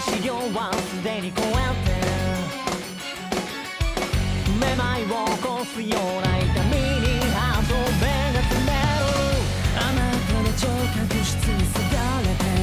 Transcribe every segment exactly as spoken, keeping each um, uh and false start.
資料はすでに超えてめまいを起こすような痛みにハート目が詰めるあなたの聴覚室にすがれて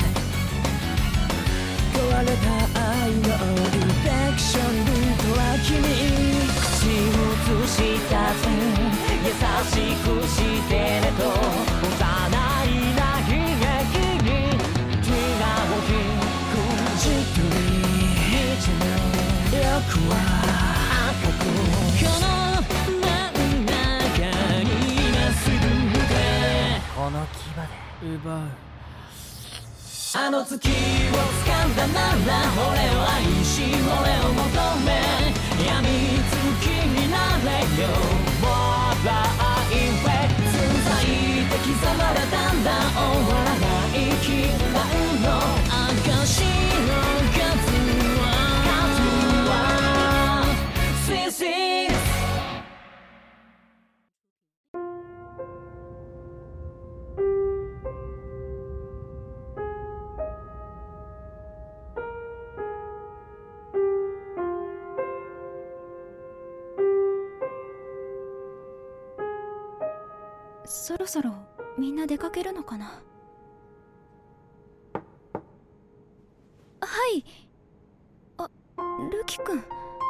壊れた愛のインフェクションルートは君口移したぜ優しくしてねと幼いな悲劇に気が大きくじっとり道の欲は赤くこの真ん中にまっすぐ向けこの牙で奪うあの月を掴んだなら俺を愛し俺を求め病みつきになれよ Border Infect つざいて刻まれたんだ終わらない禁断の証の数は数は This is そろそろみんな出かけるのかな。はい。あ、ルキ君。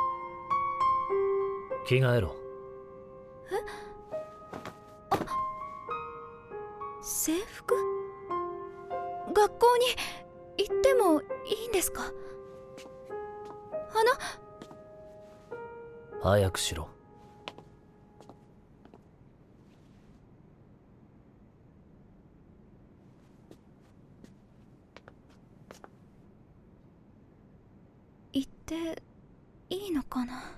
着替えろ。 え？あ、制服？学校に行ってもいいんですか？あの… 早くしろ。 行っていいのかな。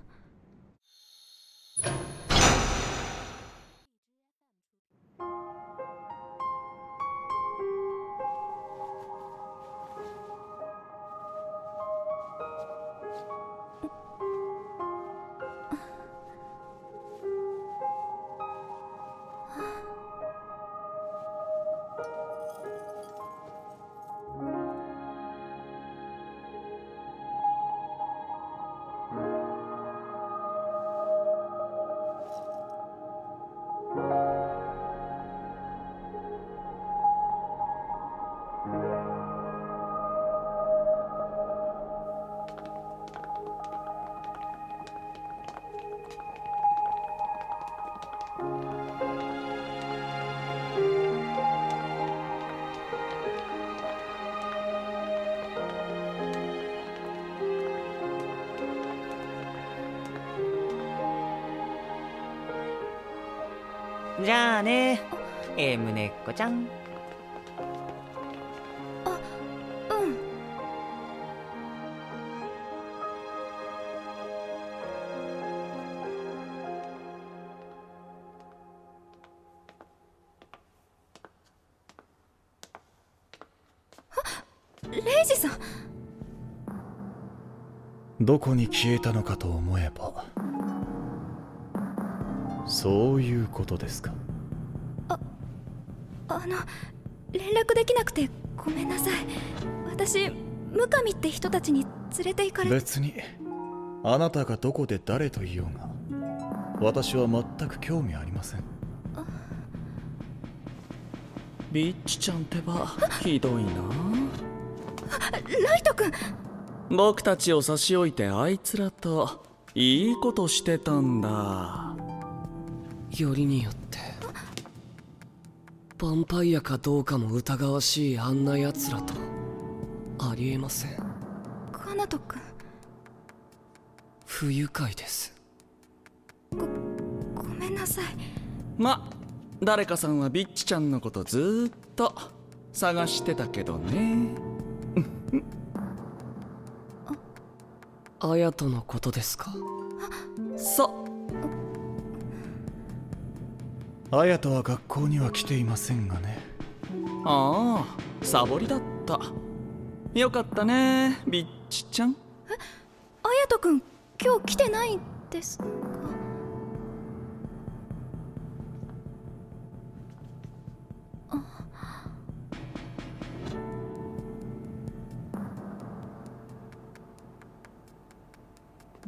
じゃあね、えむねっこちゃん。 あ、うん。あ、レイジさん。 どこに消えたのかと思えばそういうことですか。 あ、あの連絡できなくてごめんなさい。私ムカミって人たちに連れて行かれて。 別にあなたがどこで誰と言おうが私は全く興味ありません。 ビッチちゃんってばひどいな。 ライト君。 僕たちを差し置いてあいつらといいことしてたんだ。 よりによってヴァンパイアかどうかも疑わしいあんな奴らとありえません。 カナト君。 不愉快です。 ごごめんなさい。 ま、誰かさんはビッチちゃんのことずーっと探してたけどね。 アヤトのことですか。 そアヤトは学校には来ていませんがね。 ああ、サボりだった。よかったね、ビッチちゃん。 え、アヤト君今日来てないんですか。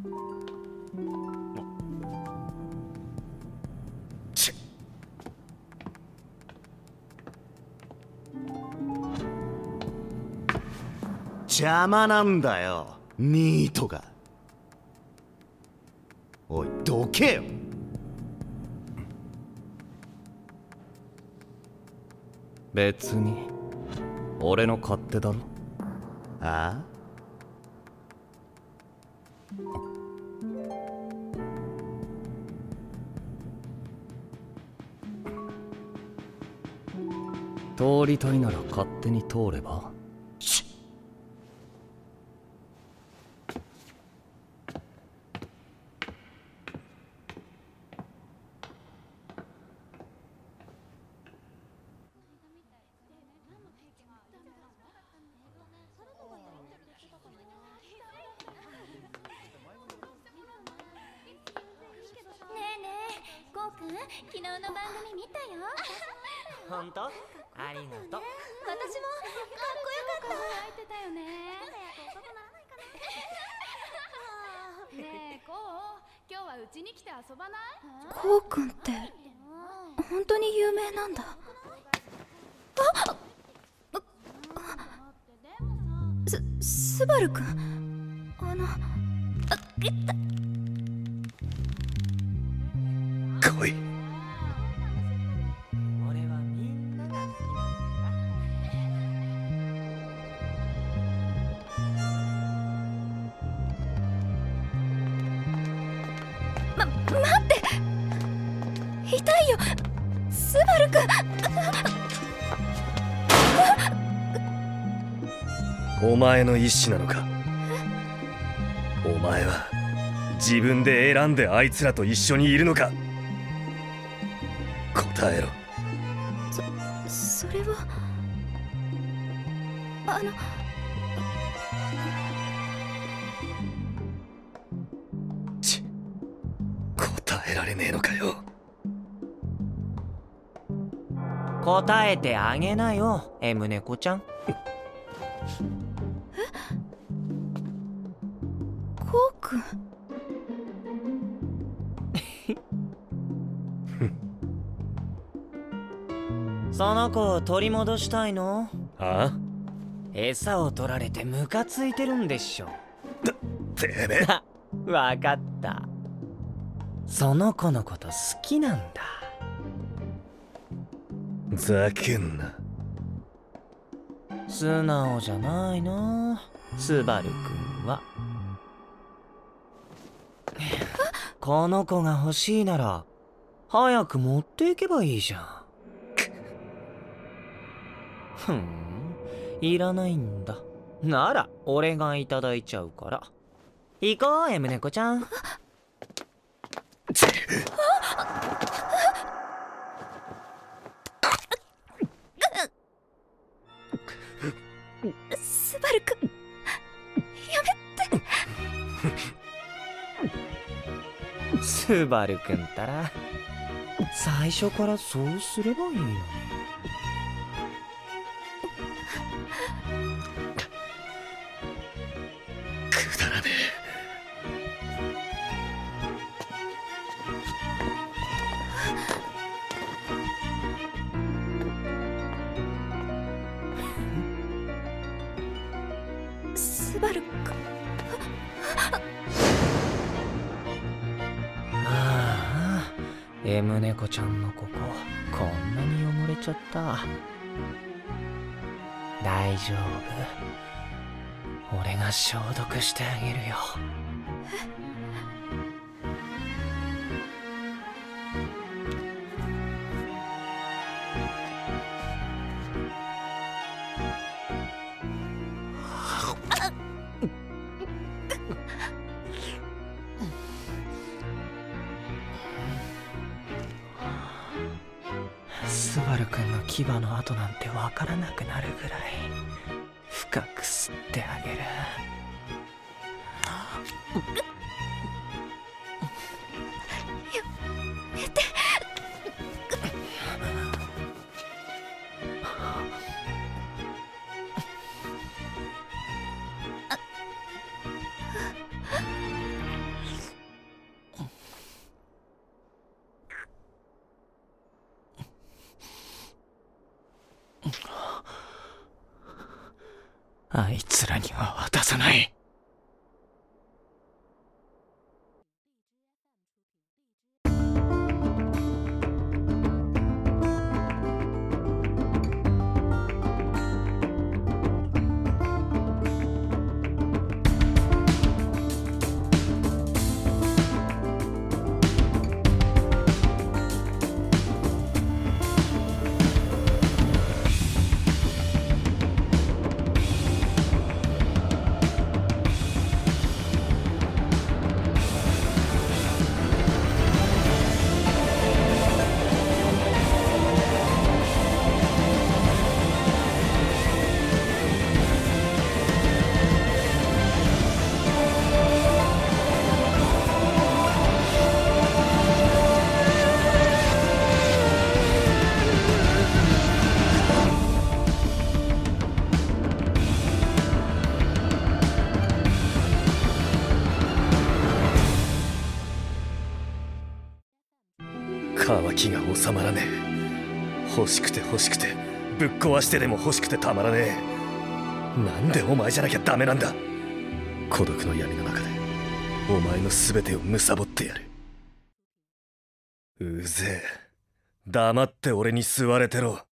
ちっ邪魔なんだよニートが。おいどけよ。 別に俺の勝手だろ。 ああ通りたいなら勝手に通れば。 昨日の番組見たよ。 本当？ありがとう。 私もかっこよかった。 泣いてたよね。ねえこう、今日はうちに来て遊ばない？ こうくんって本当に有名なんだ。あっす、スバルくん、あの、あ、いった。 来い。 俺はみんなが好きなんだ。ま、待って。痛いよ、スバルくん。お前の意志なのか。お前は自分で選んであいつらと一緒にいるのか。答えろ。 そ、それはあのち答えられねえのかよ。 答えてあげなよ、M猫ちゃん。 え？こうくん。 その子を取り戻したいの？ ああ？ 餌を取られてムカついてるんでしょ。 てめえ。 わかった。その子のこと好きなんだ。 ざけんな。 素直じゃないな、スバルくんは。この子が欲しいなら早く持っていけばいいじゃん。ふん、いらないんだ。なら俺がいただいちゃうから。行こう、M猫ちゃん。 スバルくん、やめて。 スバルくんったら最初からそうすればいいのに。 くだらねえ。スバルくん。 ああ、M猫ちゃんのこここんなに汚れちゃった。大丈夫、俺が消毒してあげるよ。スバルくんの牙の跡なんてわからなくなるぐらい深く吸ってあげる。 やめて。 あいつらには渡さない。 渇きが収まらねえ。欲しくて欲しくてぶっ壊してでも欲しくてたまらねえ。なんでお前じゃなきゃダメなんだ。孤独の闇の中でお前の全てを貪ってやる。うぜえ。黙って俺に吸われてろ。